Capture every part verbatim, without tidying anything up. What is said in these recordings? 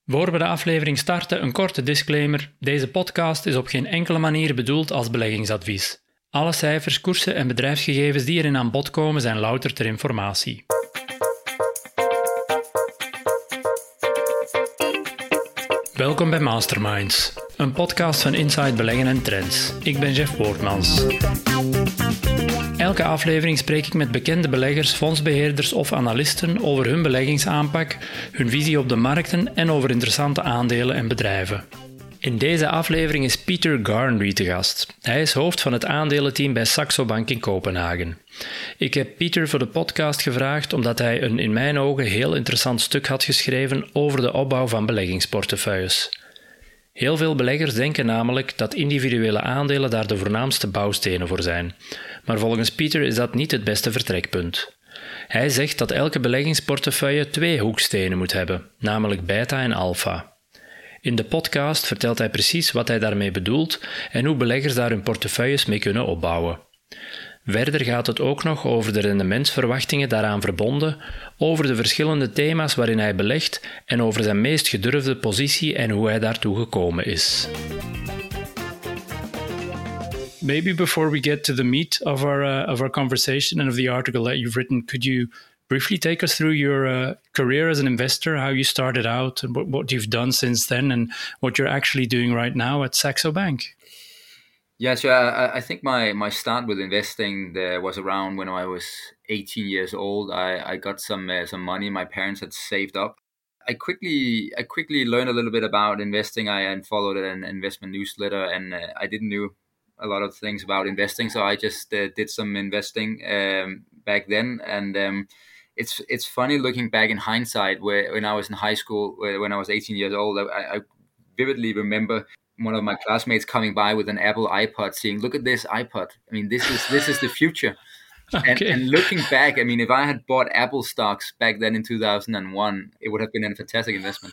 Voor we de aflevering starten, een korte disclaimer. Deze podcast is op geen enkele manier bedoeld als beleggingsadvies. Alle cijfers, koersen en bedrijfsgegevens die erin aan bod komen zijn louter ter informatie. Welkom bij Masterminds, een podcast van Inside Beleggen en Trends. Ik ben Jeff Woordmans. Elke aflevering spreek ik met bekende beleggers, fondsbeheerders of analisten over hun beleggingsaanpak, hun visie op de markten en over interessante aandelen en bedrijven. In deze aflevering is Peter Garnry te gast. Hij is hoofd van het aandelenteam bij Saxo Bank in Kopenhagen. Ik heb Peter voor de podcast gevraagd omdat hij een in mijn ogen heel interessant stuk had geschreven over de opbouw van beleggingsportefeuilles. Heel veel beleggers denken namelijk dat individuele aandelen daar de voornaamste bouwstenen voor zijn. Maar volgens Peter is dat niet het beste vertrekpunt. Hij zegt dat elke beleggingsportefeuille twee hoekstenen moet hebben, namelijk beta en alpha. In de podcast vertelt hij precies wat hij daarmee bedoelt en hoe beleggers daar hun portefeuilles mee kunnen opbouwen. Verder gaat het ook nog over de rendementsverwachtingen daaraan verbonden, over de verschillende thema's waarin hij belegt en over zijn meest gedurfde positie en hoe hij daartoe gekomen is. Maybe before we get to the meat of our uh, of our conversation and of the article that you've written, could you briefly take us through your uh, career as an investor, how you started out, and what, what you've done since then, and what you're actually doing right now at Saxo Bank? Yeah, so I, I think my, my start with investing there was around when I was eighteen years old. I, I got some uh, some money my parents had saved up. I quickly I quickly learned a little bit about investing. I and followed an investment newsletter, and uh, I didn't know a lot of things about investing, so I just uh, did some investing um, back then. And um, it's it's funny looking back in hindsight, where when I was in high school, where, when I was eighteen years old, I, I vividly remember one of my classmates coming by with an Apple iPod, saying, "Look at this iPod! I mean, this is this is the future." Okay. And, and looking back, I mean, if I had bought Apple stocks back then in two thousand one, it would have been a fantastic investment.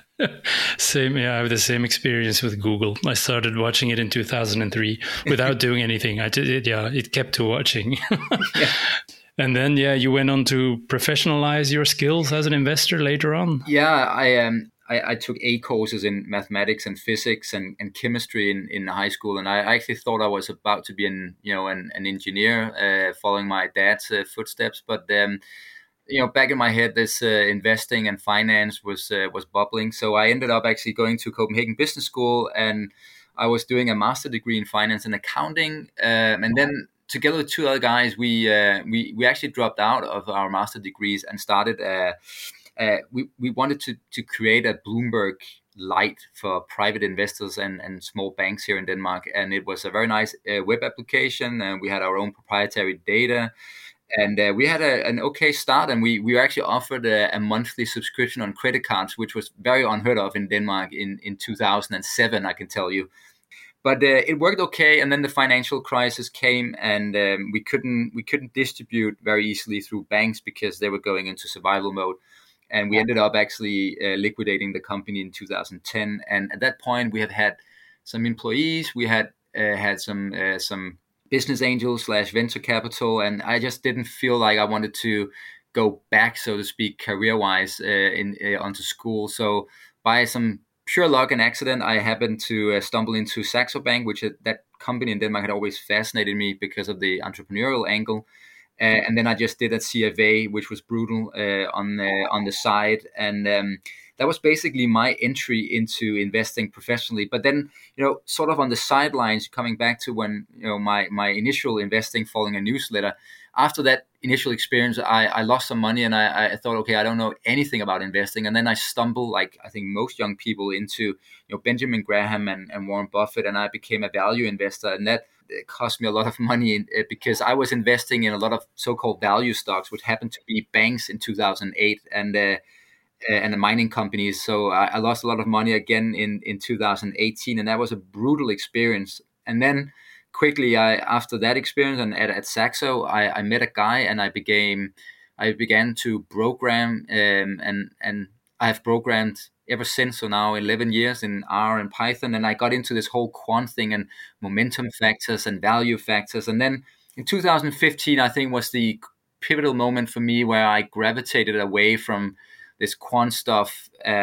Same, yeah, I have the same experience with Google. I started watching it in two thousand three without doing anything. I did it, yeah, it kept to watching. Yeah. And then, yeah, you went on to professionalize your skills as an investor later on. Yeah, I um, I, I took A courses in mathematics and physics and, and chemistry in, in high school, and I actually thought I was about to be an you know an, an engineer, uh, following my dad's uh, footsteps. But um, you know, back in my head, this uh, investing and finance was uh, was bubbling. So I ended up actually going to Copenhagen Business School, and I was doing a master degree in finance and accounting, um, and then together with two other guys, we uh, we we actually dropped out of our master degrees and started. Uh, uh, we we wanted to to create a Bloomberg Light for private investors and, and small banks here in Denmark, and it was a very nice uh, web application, and we had our own proprietary data. And uh, we had a, an okay start, and we, we were actually offered a, a monthly subscription on credit cards, which was very unheard of in Denmark in, in two thousand seven, I can tell you. But uh, it worked okay, and then the financial crisis came, and um, we couldn't we couldn't distribute very easily through banks because they were going into survival mode. And we ended up actually uh, liquidating the company in two thousand ten. And at that point, we had had some employees, we had uh, had some uh, some. business angel slash venture capital, and I just didn't feel like I wanted to go back, so to speak, career-wise uh, in uh, onto school. So by some pure luck and accident, I happened to uh, stumble into Saxo Bank, which uh, that company in Denmark had always fascinated me because of the entrepreneurial angle. Uh, and then I just did a C F A, which was brutal uh, on the on the side, and um, that was basically my entry into investing professionally. But then, you know, sort of on the sidelines, coming back to when, you know, my, my initial investing following a newsletter, after that initial experience, I, I lost some money, and I, I thought, okay, I don't know anything about investing. And then I stumbled, like I think most young people, into, you know, Benjamin Graham and, and Warren Buffett, and I became a value investor. And that cost me a lot of money in, uh, because I was investing in a lot of so-called value stocks, which happened to be banks in two thousand eight. And uh, and the mining companies. So I, I lost a lot of money again in, in two thousand eighteen, and that was a brutal experience. And then quickly, I after that experience and at, at Saxo, I, I met a guy, and I became I began to program, um, and and I have programmed ever since. So now eleven years in R and Python, and I got into this whole quant thing and momentum factors and value factors. And then in two thousand fifteen, I think was the pivotal moment for me where I gravitated away from this quant stuff um,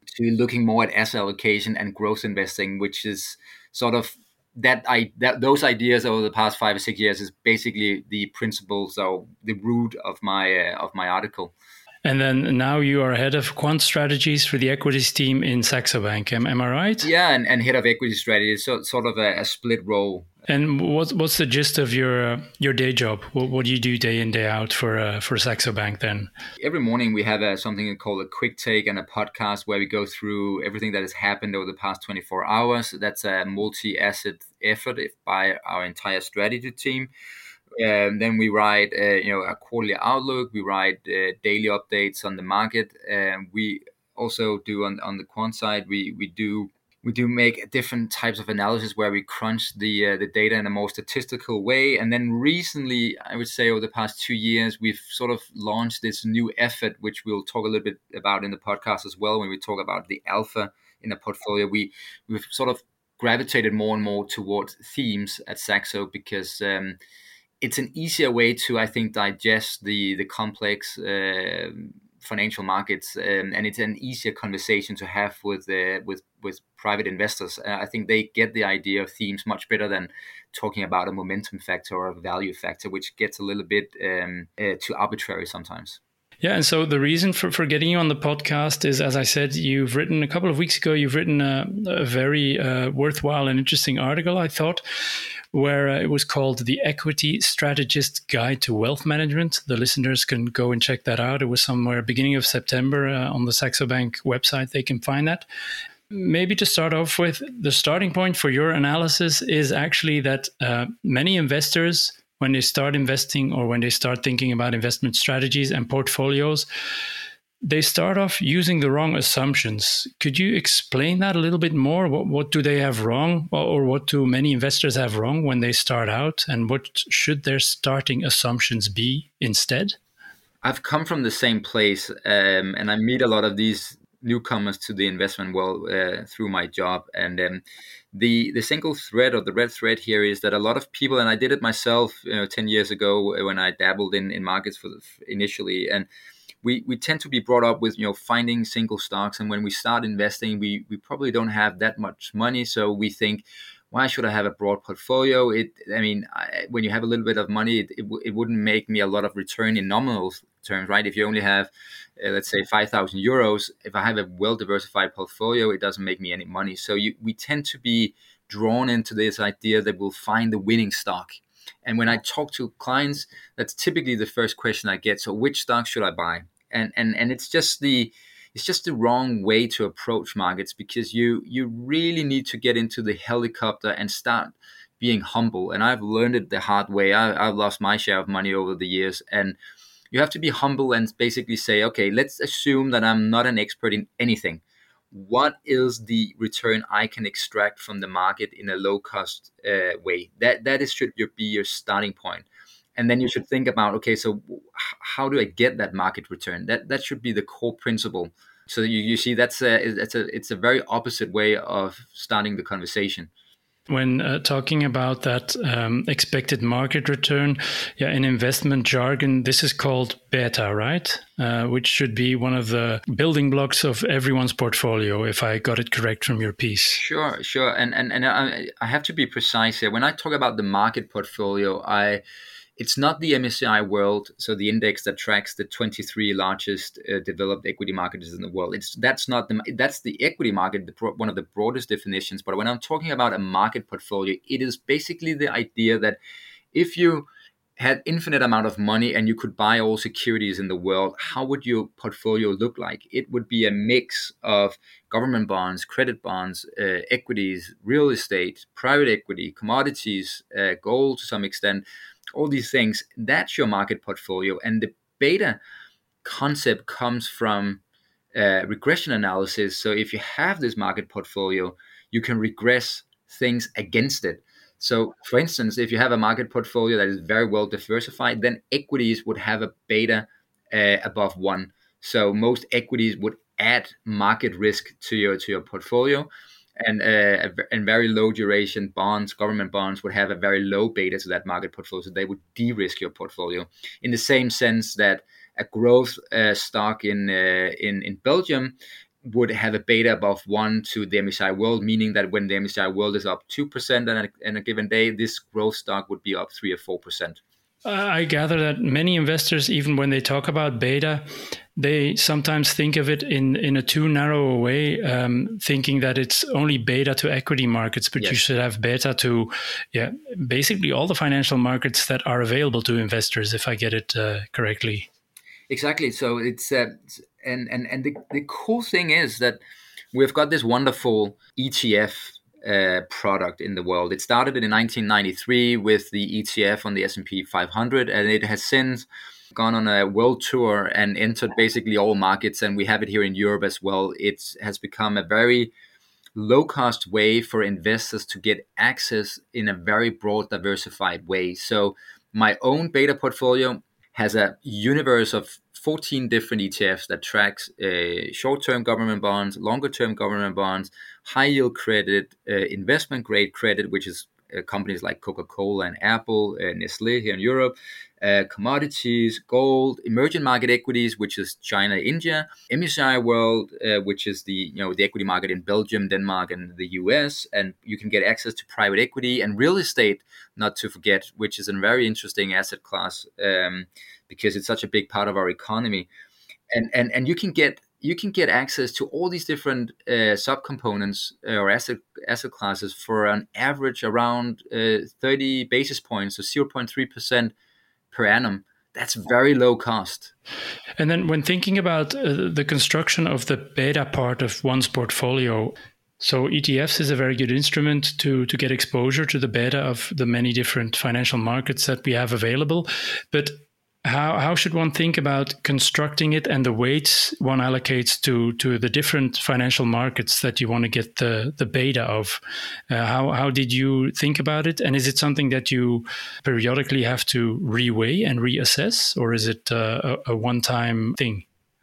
to looking more at asset allocation and growth investing, which is sort of that I that those ideas over the past five or six years is basically the principles or the root of my uh, of my article. And then now you are head of quant strategies for the equities team in Saxo Bank. Am, am I right? Yeah, and, and head of equity strategy, so sort of a, a split role. And what's what's the gist of your uh, your day job? What, what do you do day in, day out for uh, for Saxo Bank then? Every morning we have a, something called a quick take and a podcast where we go through everything that has happened over the past twenty-four hours. That's a multi-asset effort by our entire strategy team. Um, then we write, uh, you know, a quarterly outlook. We write uh, daily updates on the market. Um, we also do on on the quant side. We we do we do make different types of analysis where we crunch the uh, the data in a more statistical way. And then recently, I would say over the past two years, we've sort of launched this new effort, which we'll talk a little bit about in the podcast as well when we talk about the alpha in a portfolio. We we've sort of gravitated more and more towards themes at Saxo because. Um, It's an easier way to, I think, digest the the complex uh, financial markets, um, and it's an easier conversation to have with uh, with with private investors. Uh, I think they get the idea of themes much better than talking about a momentum factor or a value factor, which gets a little bit um, uh, too arbitrary sometimes. Yeah, and so the reason for, for getting you on the podcast is, as I said, you've written a couple of weeks ago, you've written a, a very uh, worthwhile and interesting article, I thought, where uh, it was called The Equity Strategist Guide to Wealth Management. The listeners can go and check that out. It was somewhere beginning of September uh, on the Saxo Bank website. They can find that. Maybe to start off with, the starting point for your analysis is actually that uh, many investors, when they start investing or when they start thinking about investment strategies and portfolios, they start off using the wrong assumptions. Could you explain that a little bit more? What, what do they have wrong, or what do many investors have wrong when they start out? And what should their starting assumptions be instead? I've come from the same place, um, and I meet a lot of these newcomers to the investment world uh, through my job. And um, the the single thread or the red thread here is that a lot of people, and I did it myself, you know, ten years ago when I dabbled in, in markets for the, initially, and we we tend to be brought up with, you know, finding single stocks. And when we start investing, we we probably don't have that much money, so we think, why should I have a broad portfolio? It, I mean, I, when you have a little bit of money, it, it, it wouldn't make me a lot of return in nominal terms, right? If you only have, uh, let's say, five thousand euros, if I have a well-diversified portfolio, it doesn't make me any money. So you, we tend to be drawn into this idea that we'll find the winning stock. And when I talk to clients, that's typically the first question I get. So which stock should I buy? And and and it's just the It's just the wrong way to approach markets, because you you really need to get into the helicopter and start being humble. And I've learned it the hard way. I, I've lost my share of money over the years. And you have to be humble and basically say, okay, let's assume that I'm not an expert in anything. What is the return I can extract from the market in a low-cost uh, way? That That is, should be your starting point. And then you should think about, okay, so how do I get that market return? That that should be the core principle. So you, you see, that's a, it's a it's a very opposite way of starting the conversation. When uh, talking about that um, expected market return, yeah, in investment jargon, this is called beta, right? Uh, which should be one of the building blocks of everyone's portfolio, if I got it correct from your piece. Sure, sure. And and and I, I have to be precise here. When I talk about the market portfolio, I It's not the M S C I World, so the index that tracks the twenty-three largest uh, developed equity markets in the world. It's that's not the that's the equity market, the pro, one of the broadest definitions. But when I'm talking about a market portfolio, it is basically the idea that if you had infinite amount of money and you could buy all securities in the world, how would your portfolio look like? It would be a mix of government bonds, credit bonds, uh, equities, real estate, private equity, commodities, uh, gold to some extent. All these things, that's your market portfolio. And the beta concept comes from uh, regression analysis. So if you have this market portfolio, you can regress things against it. So for instance, if you have a market portfolio that is very well diversified, then equities would have a beta uh, above one. So most equities would add market risk to your to your portfolio. And uh, and very low duration bonds, government bonds, would have a very low beta to that market portfolio. So they would de-risk your portfolio. In the same sense that a growth uh, stock in uh, in in Belgium would have a beta above one to the M S C I World, meaning that when the M S C I World is up two percent on a, on a given day, this growth stock would be up three or four percent. I gather that many investors, even when they talk about beta, they sometimes think of it in, in a too narrow a way, um, thinking that it's only beta to equity markets, but yes. You should have beta to yeah, basically all the financial markets that are available to investors, if I get it uh, correctly. Exactly. So it's uh, and and and the, the cool thing is that we've got this wonderful E T F uh, product in the world. It started in nineteen ninety-three with the E T F on the S and P five hundred, and it has since gone on a world tour and entered basically all markets. And we have it here in Europe as well. It has become a very low cost way for investors to get access in a very broad, diversified way. So my own beta portfolio has a universe of fourteen different E T Fs that tracks uh, short-term government bonds, longer-term government bonds, high-yield credit, uh, investment-grade credit, which is uh, companies like Coca-Cola and Apple, uh, Nestle here in Europe, uh, commodities, gold, emerging market equities, which is China, India, M S C I World, uh, which is the you know the equity market in Belgium, Denmark, and the U S, and you can get access to private equity and real estate, not to forget, which is a very interesting asset class um, because it's such a big part of our economy, and and and you can get you can get access to all these different uh, subcomponents uh, or asset asset classes for an average around uh, thirty basis points, so zero point three percent per annum. That's very low cost. And then when thinking about uh, the construction of the beta part of one's portfolio, so E T Fs is a very good instrument to, to get exposure to the beta of the many different financial markets that we have available. But how how should one think about constructing it and the weights one allocates to, to the different financial markets that you want to get the, the beta of? Uh, how how did you think about it? And is it something that you periodically have to reweigh and reassess, or is it uh, a, a one-time thing?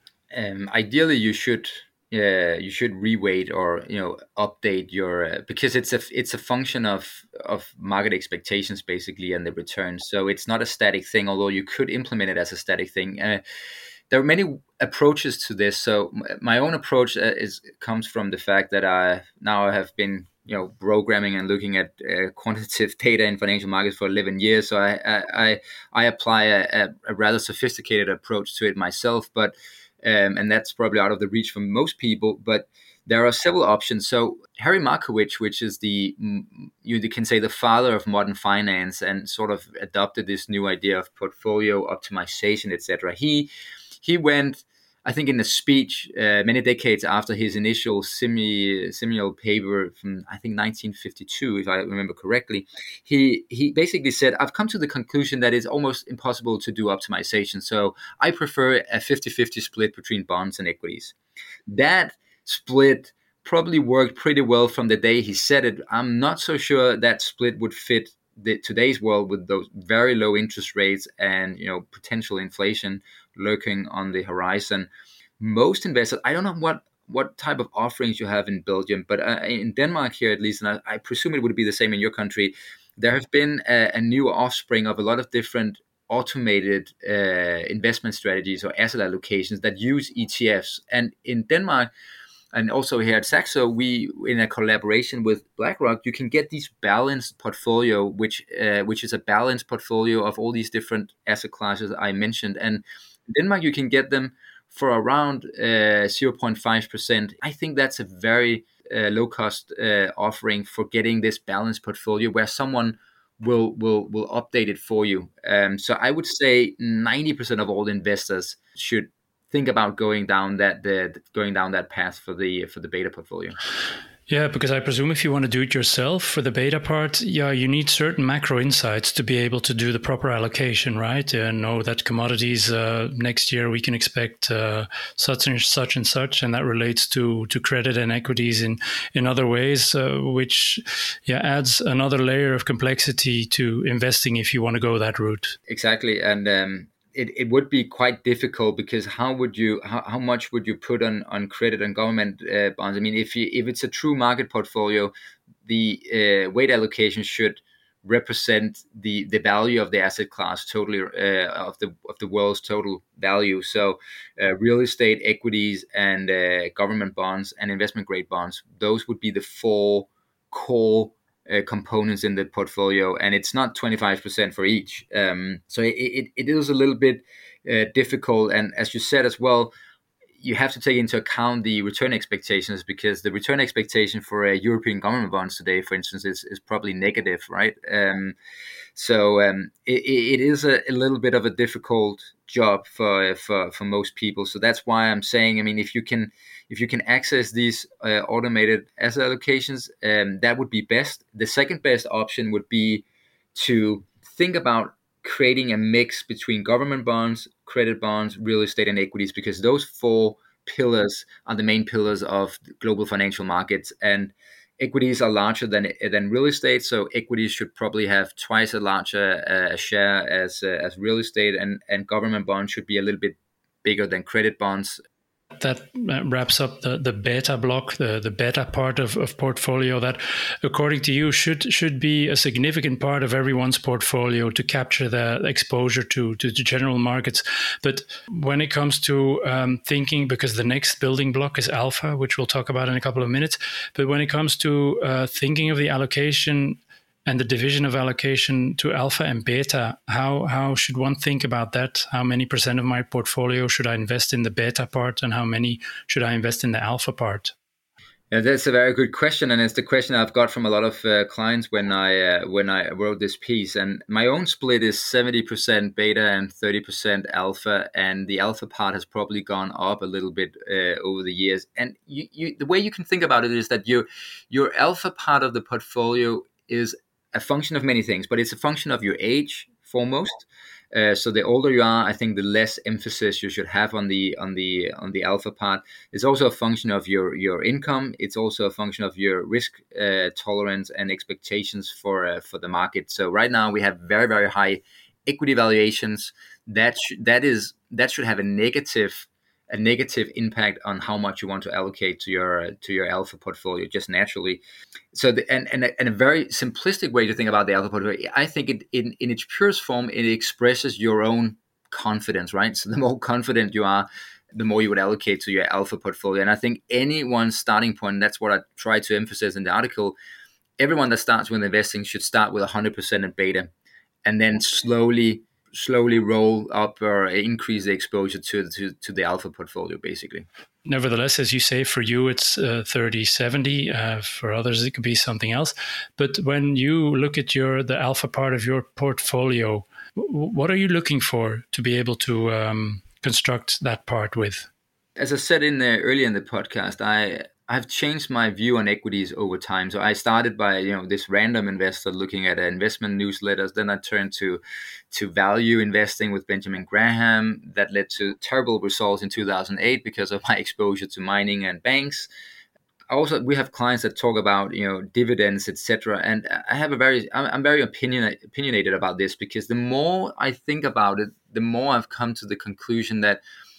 Um, ideally, you should uh, you should reweight or you know update your uh, because it's a it's a function of of market expectations basically and the returns. So it's not a static thing, although you could implement it as a static thing. Uh, there are many approaches to this. So my own approach uh, is comes from the fact that I now I have been you know programming and looking at uh, quantitative data in financial markets for eleven years. So I I I apply a, a rather sophisticated approach to it myself, but Um, and that's probably out of the reach for most people, but there are several options. So Harry Markowitz, which is the, you can say the father of modern finance and sort of adopted this new idea of portfolio optimization, et cetera. He, he went, I think in a speech uh, many decades after his initial semi, seminal paper from, I think nineteen fifty-two, if I remember correctly, he he basically said, I've come to the conclusion that it's almost impossible to do optimization. So I prefer a fifty-fifty split between bonds and equities. That split probably worked pretty well from the day he said it. I'm not so sure that split would fit the, today's world with those very low interest rates and you know potential inflation lurking on the horizon. Most investors, I don't know what what type of offerings you have in Belgium, but uh, in Denmark here at least, and I, I presume it would be the same in your country, there have been a, a new offspring of a lot of different automated uh, investment strategies or asset allocations that use E T Fs. And in Denmark, and also here at Saxo, we, in a collaboration with BlackRock, you can get these balanced portfolio, which uh, which is a balanced portfolio of all these different asset classes I mentioned. And in Denmark, you can get them for around uh, zero point five percent. I think that's a very uh, low-cost uh, offering for getting this balanced portfolio where someone will will will update it for you. Um, so I would say ninety percent of all investors should think about going down that the going down that path for the for the beta portfolio. Yeah, because I presume if you want to do it yourself for the beta part, yeah, you need certain macro insights to be able to do the proper allocation, right? And know that commodities uh, next year we can expect uh, such and such and such, and that relates to to credit and equities in in other ways, uh, which yeah adds another layer of complexity to investing if you want to go that route. Exactly, and. Um It, it would be quite difficult because how would you how, how much would you put on, on credit and government uh, bonds? I mean, if you if it's a true market portfolio, the uh, weight allocation should represent the the value of the asset class totally, uh, of the of the world's total value. So uh, real estate, equities, and uh, government bonds and investment grade bonds, those would be the four core uh, components in the portfolio, and it's not twenty-five percent for each. Um, so it, it, it is a little bit uh, difficult, and as you said as well, you have to take into account the return expectations, because the return expectation for a European government bonds today, for instance, is, is probably negative, right? Um, so um, it, it is a, a little bit of a difficult job for, for for most people. So that's why I'm saying, I mean, if you can if you can access these uh, automated asset allocations, um, that would be best. The second best option would be to think about creating a mix between government bonds, credit bonds, real estate, and equities, because those four pillars are the main pillars of global financial markets. And equities are larger than than real estate, so equities should probably have twice as large a, a share as uh, as real estate, and and government bonds should be a little bit bigger than credit bonds. That wraps up the, the beta block, the, the beta part of, of portfolio that, according to you, should should be a significant part of everyone's portfolio to capture the exposure to, to the general markets. But when it comes to um, thinking, because the next building block is alpha, which we'll talk about in a couple of minutes, but when it comes to uh, thinking of the allocation and the division of allocation to alpha and beta, how how should one think about that? How many percent of my portfolio should I invest in the beta part, and how many should I invest in the alpha part? Yeah, that's a very good question, and it's the question I've got from a lot of uh, clients when I uh, when I wrote this piece. And my own split is seventy percent beta and thirty percent alpha, and the alpha part has probably gone up a little bit uh, over the years. And you, you, the way you can think about it is that your your alpha part of the portfolio is a function of many things, but it's a function of your age foremost. Uh, so the older you are, I think the less emphasis you should have on the on the on the alpha part. It's also a function of your your income. It's also a function of your risk uh, tolerance and expectations for uh, for the market. So right now we have very very high equity valuations. That sh- that is that should have a negative a negative impact on how much you want to allocate to your uh, to your alpha portfolio just naturally. So the, and, and, a, and a very simplistic way to think about the alpha portfolio, I think it in, in its purest form, it expresses your own confidence, right? So the more confident you are, the more you would allocate to your alpha portfolio. And I think anyone's starting point, that's what I try to emphasize in the article, everyone that starts with investing should start with one hundred percent in beta, and then slowly slowly roll up or increase the exposure to, to, to the alpha portfolio, basically. Nevertheless, as you say, for you, it's uh, thirty seventy. Uh, for others, it could be something else. But when you look at your the alpha part of your portfolio, w- what are you looking for to be able to um, construct that part with? As I said in the, earlier in the podcast, I I've changed my view on equities over time. So I started by, you know, this random investor looking at investment newsletters. Then I turned to to value investing with Benjamin Graham. That led to terrible results in two thousand eight because of my exposure to mining and banks. Also, we have clients that talk about, you know, dividends, et cetera. And I have a very, I'm very opinion, opinionated about this, because the more I think about it, the more I've come to the conclusion that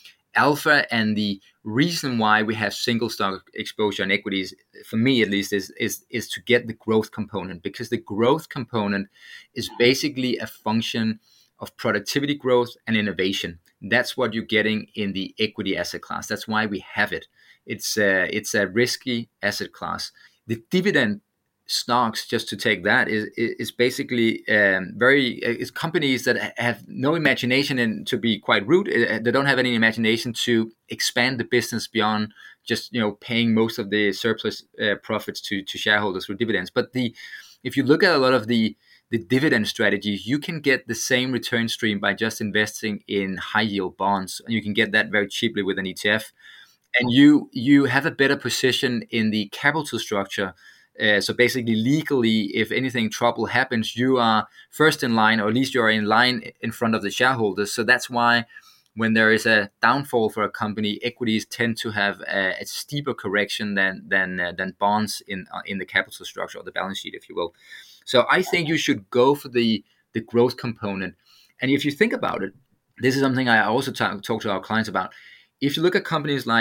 alpha, and the reason why we have single stock exposure in equities, for me at least, is is is to get the growth component, because the growth component is basically a function of productivity growth and innovation. That's what you're getting in the equity asset class. That's why we have it. It's a, it's a risky asset class. The dividend stocks, just to take that, is is basically um, very it's companies that have no imagination, and to be quite rude, they don't have any imagination to expand the business beyond just, you know, paying most of the surplus uh, profits to to shareholders through dividends. But the if you look at a lot of the the dividend strategies, you can get the same return stream by just investing in high yield bonds, and you can get that very cheaply with an E T F, and you you have a better position in the capital structure. Uh, so basically, legally, if anything trouble happens, you are first in line, or at least you are in line in front of the shareholders. So that's why when there is a downfall for a company, equities tend to have a, a steeper correction than than uh, than bonds in uh, in the capital structure, or the balance sheet, if you will. So I think you should go for the the growth component. And if you think about it, this is something I also talk, talk to our clients about. If you look at companies like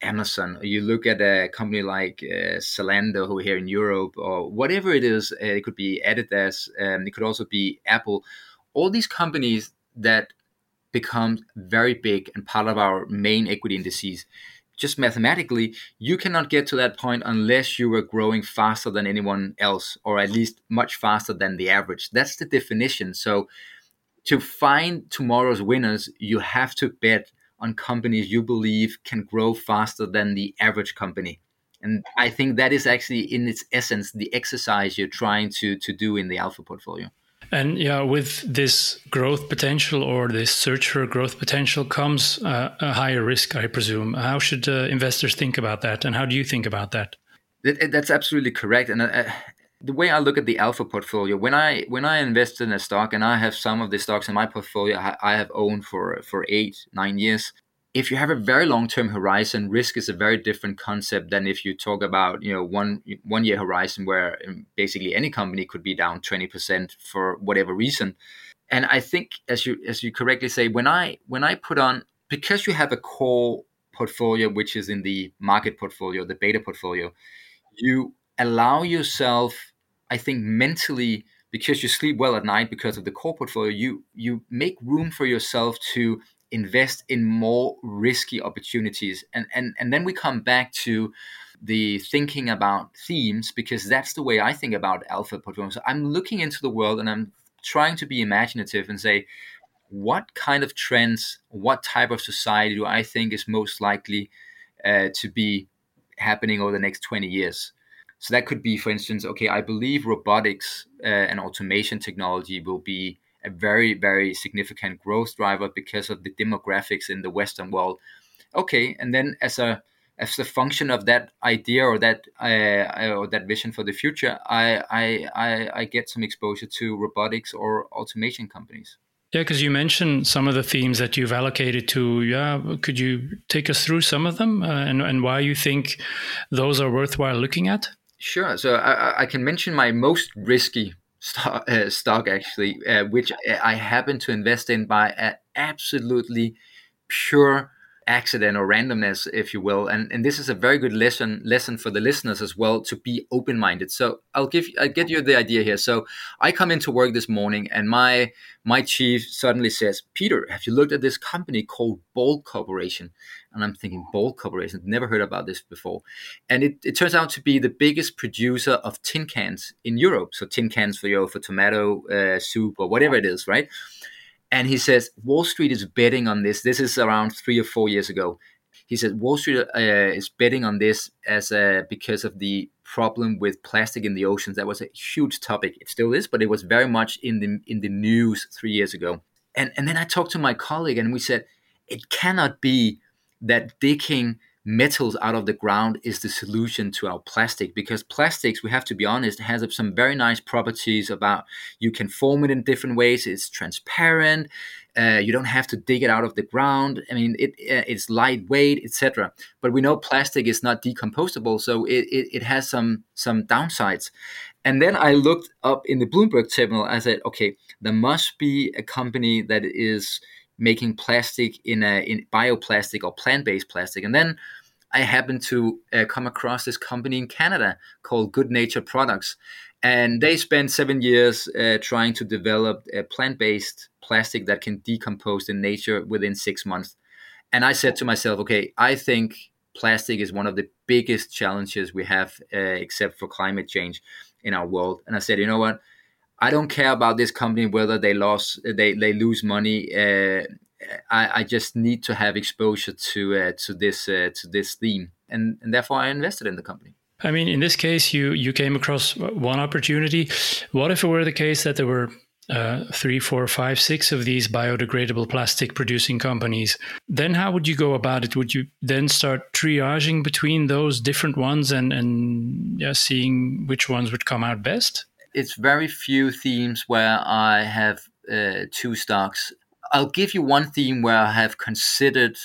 Amazon, or you look at a company like uh, Zalando who here in Europe, or whatever it is. Uh, it could be Adidas, um, it could also be Apple. All these companies that become very big and part of our main equity indices, just mathematically, you cannot get to that point unless you were growing faster than anyone else, or at least much faster than the average. That's the definition. So to find tomorrow's winners, you have to bet on companies you believe can grow faster than the average company. And I think that is actually, in its essence, the exercise you're trying to, to do in the alpha portfolio. And yeah, with this growth potential or this search for growth potential comes uh, a higher risk, I presume. How should uh, investors think about that? And how do you think about that? That, that's absolutely correct. And uh, the way I look at the alpha portfolio, when I when I invest in a stock, and I have some of the stocks in my portfolio I have owned for, for eight, nine years, if you have a very long-term horizon, risk is a very different concept than if you talk about, you know, one one year horizon where basically any company could be down twenty percent for whatever reason. And I think, as you as you correctly say, when I when I put on, because you have a core portfolio which is in the market portfolio, the beta portfolio, you allow yourself, I think, mentally, because you sleep well at night because of the core portfolio, you you make room for yourself to invest in more risky opportunities. And, and, and then we come back to the thinking about themes, because that's the way I think about alpha portfolios. So I'm looking into the world and I'm trying to be imaginative and say, what kind of trends, what type of society do I think is most likely uh, to be happening over the next twenty years? So that could be, for instance, okay, I believe robotics uh, and automation technology will be a very, very significant growth driver because of the demographics in the Western world. Okay, and then as a as a function of that idea or that uh, or that vision for the future, I, I I I get some exposure to robotics or automation companies. Yeah, because you mentioned some of the themes that you've allocated to. Yeah, could you take us through some of them uh, and and why you think those are worthwhile looking at? Sure. So I, I can mention my most risky stock, uh, stock actually, uh, which I happen to invest in by an absolutely pure accident or randomness, if you will. And and this is a very good lesson lesson for the listeners as well, to be open-minded. So I'll give I'll get you the idea here. So I come into work this morning and my my chief suddenly says, "Peter, have you looked at this company called Ball Corporation?" And I'm thinking, Ball Corporation, never heard about this before. And it, it turns out to be the biggest producer of tin cans in Europe. So tin cans for, you know, for tomato uh, soup or whatever it is, right? And he says, Wall Street is betting on this. This is around three or four years ago. He said, Wall Street uh, is betting on this as a, because of the problem with plastic in the oceans. That was a huge topic. It still is, but it was very much in the in the news three years ago. And, and then I talked to my colleague and we said, it cannot be that digging metals out of the ground is the solution to our plastic, because plastics, we have to be honest, has some very nice properties about you can form it in different ways. It's transparent. Uh, you don't have to dig it out of the ground. I mean, it uh, it's lightweight, et cetera. But we know plastic is not decomposable, so it, it, it has some some downsides. And then I looked up in the Bloomberg terminal. I said, okay, there must be a company that is making plastic in a in bioplastic or plant-based plastic. And then I happened to uh, come across this company in Canada called Good Nature Products. And they spent seven years uh, trying to develop a plant-based plastic that can decompose in nature within six months. And I said to myself, okay, I think plastic is one of the biggest challenges we have, uh, except for climate change in our world. And I said, you know what? I don't care about this company, whether they lost, they, they lose money. Uh, I, I just need to have exposure to uh, to this uh, to this theme, and, and therefore I invested in the company. I mean, in this case, you you came across one opportunity. What if it were the case that there were uh, three, four, five, six of these biodegradable plastic producing companies? Then how would you go about it? Would you then start triaging between those different ones and and yeah, seeing which ones would come out best? It's very few themes where I have uh, two stocks. I'll give you one theme where I have considered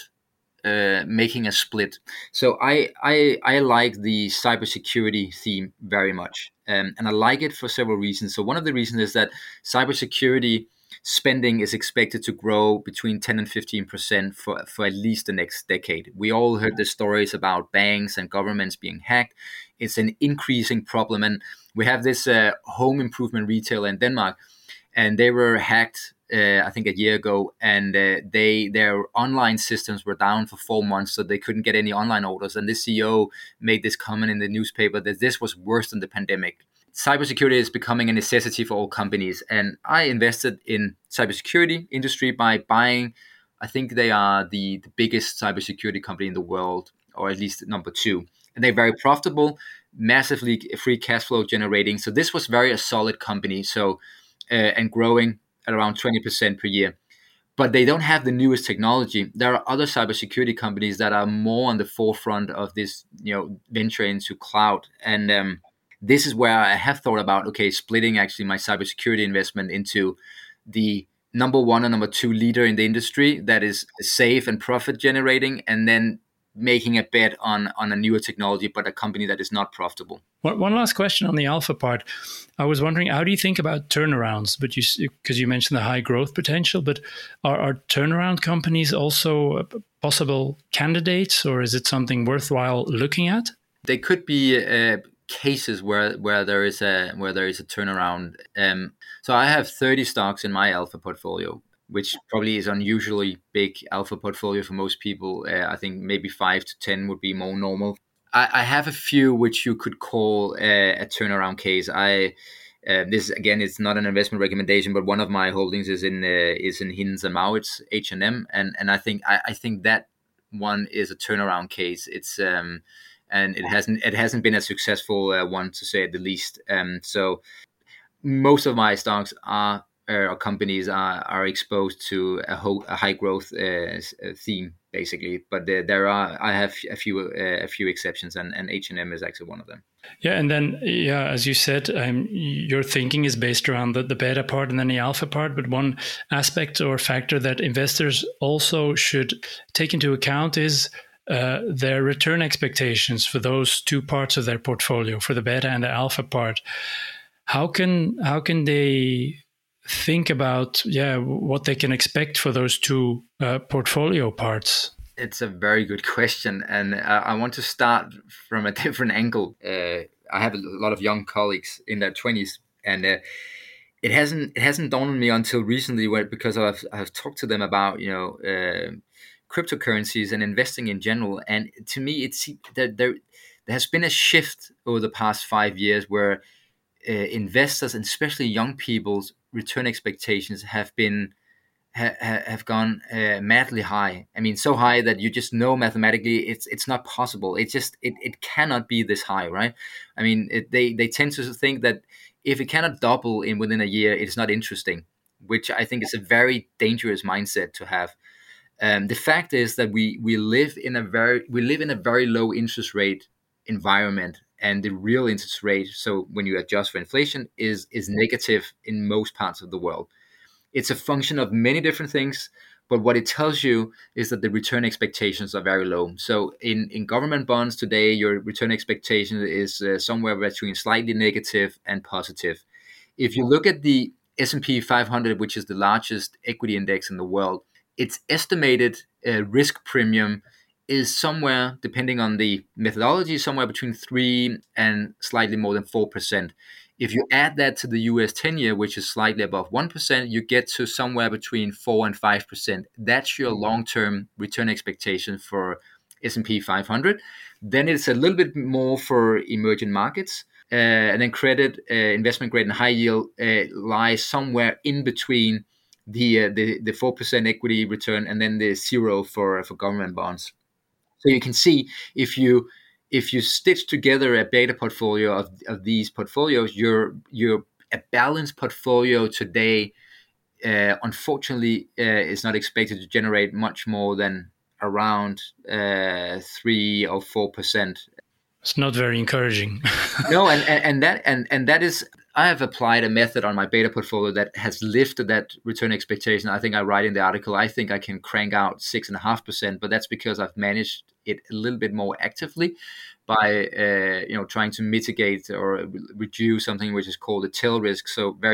uh, making a split. So I, I I like the cybersecurity theme very much, um, and I like it for several reasons. So one of the reasons is that cybersecurity spending is expected to grow between ten and fifteen percent for, for at least the next decade. We all heard the stories about banks and governments being hacked. It's an increasing problem. And we have this uh, home improvement retailer in Denmark, and they were hacked, uh, I think, a year ago. And uh, they their online systems were down for four months, so they couldn't get any online orders. And the C E O made this comment in the newspaper that this was worse than the pandemic. Cybersecurity is becoming a necessity for all companies. And I invested in cybersecurity industry by buying, I think they are the, the biggest cybersecurity company in the world, or at least number two. And they're very profitable, massively free cash flow generating. So this was very a solid company. So uh, and growing at around twenty percent per year. But they don't have the newest technology. There are other cybersecurity companies that are more on the forefront of this, you know, venture into cloud. And um, this is where I have thought about, okay, splitting actually my cybersecurity investment into the number one and number two leader in the industry that is safe and profit generating, and then making a bet on, on a newer technology, but a company that is not profitable. One last question on the alpha part. I was wondering, how do you think about turnarounds? But you, because you mentioned the high growth potential, but are, are turnaround companies also possible candidates, or is it something worthwhile looking at? They could be uh, cases where where there is a where there is a turnaround. Um, so I have thirty stocks in my alpha portfolio, which probably is unusually big alpha portfolio for most people. Uh, I think maybe five to ten would be more normal. I, I have a few which you could call a, a turnaround case. I uh, this again, it's not an investment recommendation, but one of my holdings is in uh, is in Hinds and Mauritz, H and M, and and I think I, I think that one is a turnaround case. It's um, and it hasn't it hasn't been a successful uh, one, to say the least. Um, so most of my stocks are. Or companies are, are exposed to a, ho- a high growth uh, theme, basically. But there, there are I have a few uh, a few exceptions, and, and H and M is actually one of them. Yeah, and then yeah, as you said, um, your thinking is based around the, the beta part and then the alpha part. But one aspect or factor that investors also should take into account is uh, their return expectations for those two parts of their portfolio, for the beta and the alpha part. How can how can they think about yeah what they can expect for those two uh, portfolio parts? It's a very good question, and I, I want to start from a different angle. Uh, I have a lot of young colleagues in their twenties, and uh, it hasn't it hasn't dawned on me until recently, where because I've I've talked to them about you know uh, cryptocurrencies and investing in general, and to me it's that there there has been a shift over the past five years where uh, investors, and especially young people's return expectations have been ha, have gone uh, madly high. I mean, so high that you just know mathematically it's it's not possible. It just it, it cannot be this high, right? I mean, it, they they tend to think that if it cannot double in within a year, it's not interesting, which I think is a very dangerous mindset to have. Um, the fact is that we we live in a very we live in a very low interest rate environment. And the real interest rate, so when you adjust for inflation, is is negative in most parts of the world. It's a function of many different things, but what it tells you is that the return expectations are very low. So in, in government bonds today, your return expectation is uh, somewhere between slightly negative and positive. If you look at the S and P five hundred, which is the largest equity index in the world, its estimated uh, risk premium is somewhere, depending on the methodology, somewhere between three and slightly more than four percent. If you add that to the U S ten-year, which is slightly above one percent, you get to somewhere between four and five percent. That's your long-term return expectation for S and P five hundred. Then it's a little bit more for emerging markets. Uh, and then credit, uh, investment grade, and high yield uh, lies somewhere in between the, uh, the the four percent equity return and then the zero for, for government bonds. So you can see if you if you stitch together a beta portfolio of, of these portfolios, you're you're a balanced portfolio today. Uh, unfortunately, uh, is not expected to generate much more than around uh, three or four percent. It's not very encouraging. No, and, and and that and and that is. I have applied a method on my beta portfolio that has lifted that return expectation. I think I write in the article, I think I can crank out six and a half percent, but that's because I've managed it a little bit more actively by, uh, you know, trying to mitigate or reduce something which is called a tail risk. So very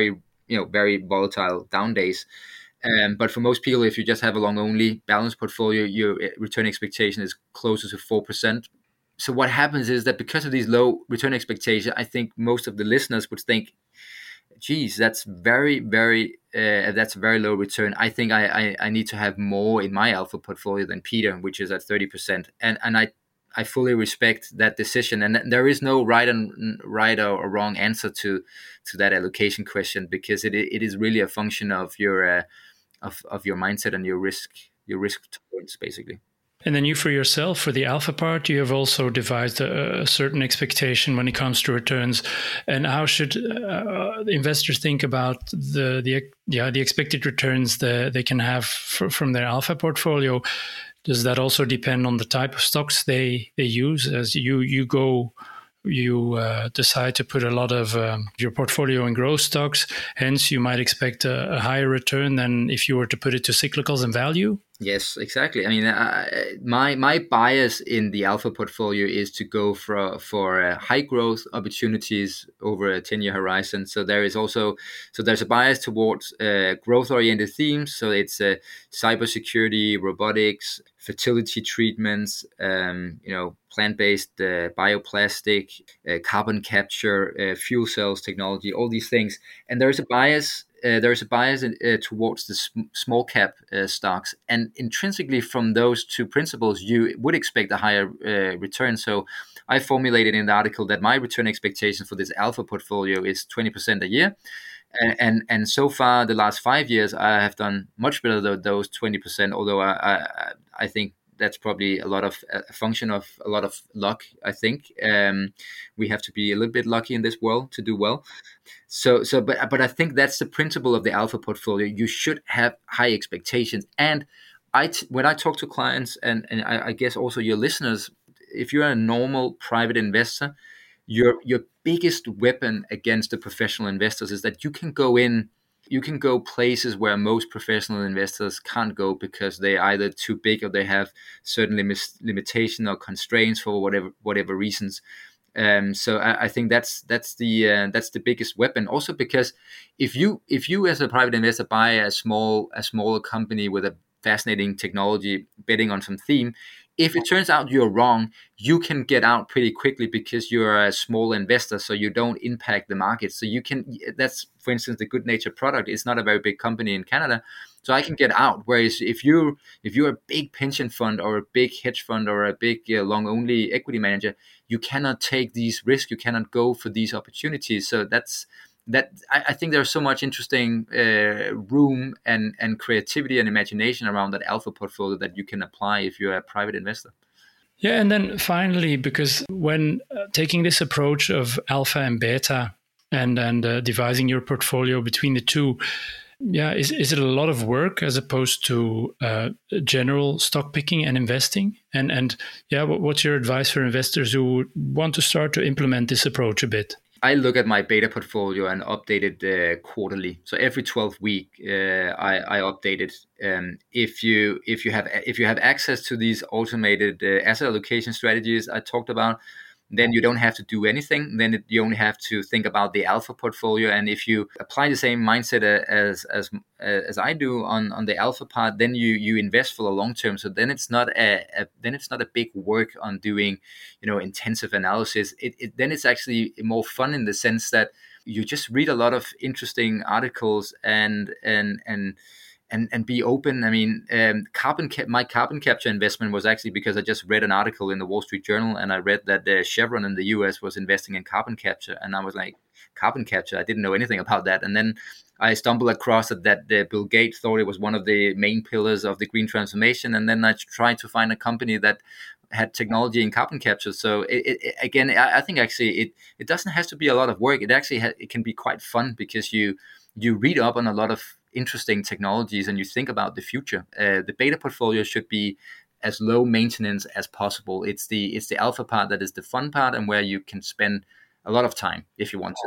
you know, very volatile down days. Um, but for most people, if you just have a long only balanced portfolio, your return expectation is closer to four percent. So what happens is that because of these low return expectations, I think most of the listeners would think, geez, that's very, very, uh, that's a very low return. I think I, I, I need to have more in my alpha portfolio than Peter, which is at thirty percent. And and I, I fully respect that decision. And there is no right and right or wrong answer to to that allocation question, because it it is really a function of your uh, of of your mindset and your risk your risk tolerance, basically. And then you, for yourself, for the alpha part, you have also devised a, a certain expectation when it comes to returns. And how should uh, investors think about the the yeah the expected returns that they can have for, from their alpha portfolio? Does that also depend on the type of stocks they they use? As you you go. You uh, decide to put a lot of um, your portfolio in growth stocks, hence you might expect a, a higher return than if you were to put it to cyclicals and value? Yes, exactly. I mean, uh, my my bias in the alpha portfolio is to go for for uh, high growth opportunities over a ten year horizon. So there is also so there's a bias towards uh, growth oriented themes. So it's uh, cybersecurity, robotics, fertility treatments, um, you know, plant-based uh, bioplastic, uh, carbon capture, uh, fuel cells technology, all these things. And there is a bias. Uh, there is a bias in, uh, towards the sm- small cap uh, stocks, and intrinsically from those two principles, you would expect a higher uh, return. So, I formulated in the article that my return expectation for this alpha portfolio is twenty percent a year, and, and and so far the last five years I have done much better than those twenty percent. Although I, I I think that's probably a lot of a function of a lot of luck. I think um, we have to be a little bit lucky in this world to do well. So, so, but, but I think that's the principle of the alpha portfolio. You should have high expectations. And I, t- when I talk to clients, and, and I, I guess also your listeners, if you're a normal private investor, your your biggest weapon against the professional investors is that you can go in, you can go places where most professional investors can't go because they're either too big or they have certain lim- limitation or constraints for whatever whatever reasons. Um, so I, I think that's that's the uh, that's the biggest weapon. Also because if you if you as a private investor buy a small a smaller company with a fascinating technology, betting on some theme, if it turns out you're wrong, you can get out pretty quickly because you're a small investor, so you don't impact the market. So you can, that's, for instance, the Good Natured product. It's not a very big company in Canada, so I can get out. Whereas if you if you're a big pension fund or a big hedge fund or a big uh, long only equity manager, you cannot take these risks. You cannot go for these opportunities. So that's that. I, I think there's so much interesting uh, room and and creativity and imagination around that alpha portfolio that you can apply if you're a private investor. Yeah, and then finally, because when uh, taking this approach of alpha and beta and and uh, devising your portfolio between the two, yeah, is is it a lot of work as opposed to uh, general stock picking and investing? And and yeah, what, what's your advice for investors who want to start to implement this approach a bit? I look at my beta portfolio and update it uh, quarterly. So every twelfth week, uh, I, I update it. Um, if you if you have if you have access to these automated uh, asset allocation strategies I talked about, then you don't have to do anything. Then it, you only have to think about the alpha portfolio. And if you apply the same mindset as as as I do on, on the alpha part, then you you invest for the long term. So then it's not a, a then it's not a big work on doing, you know, intensive analysis. It, it then it's actually more fun in the sense that you just read a lot of interesting articles and and and. And, and be open. I mean, um, carbon ca- my carbon capture investment was actually because I just read an article in the Wall Street Journal, and I read that uh, Chevron in the U S was investing in carbon capture, and I was like, carbon capture? I didn't know anything about that. And then I stumbled across it that uh, Bill Gates thought it was one of the main pillars of the green transformation, and then I tried to find a company that had technology in carbon capture. So it, it, again, I, I think actually it it doesn't have to be a lot of work. It actually ha- it can be quite fun because you you read up on a lot of interesting technologies and you think about the future. Uh, the beta portfolio should be as low maintenance as possible. It's the it's the alpha part that is the fun part and where you can spend a lot of time if you want to.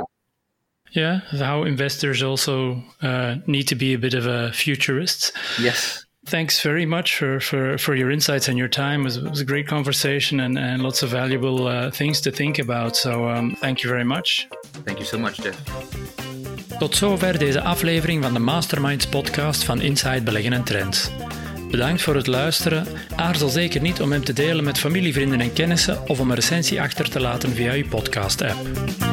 Yeah, how investors also uh, need to be a bit of a futurist. Yes. Thanks very much for, for, for your insights and your time. It was, it was a great conversation and, and lots of valuable uh, things to think about. So um, thank you very much. Thank you so much, Jeff. Tot zover deze aflevering van de Masterminds podcast van Inside Beleggen en Trends. Bedankt voor het luisteren. Aarzel zeker niet om hem te delen met familie, vrienden en kennissen of om een recensie achter te laten via uw podcast-app.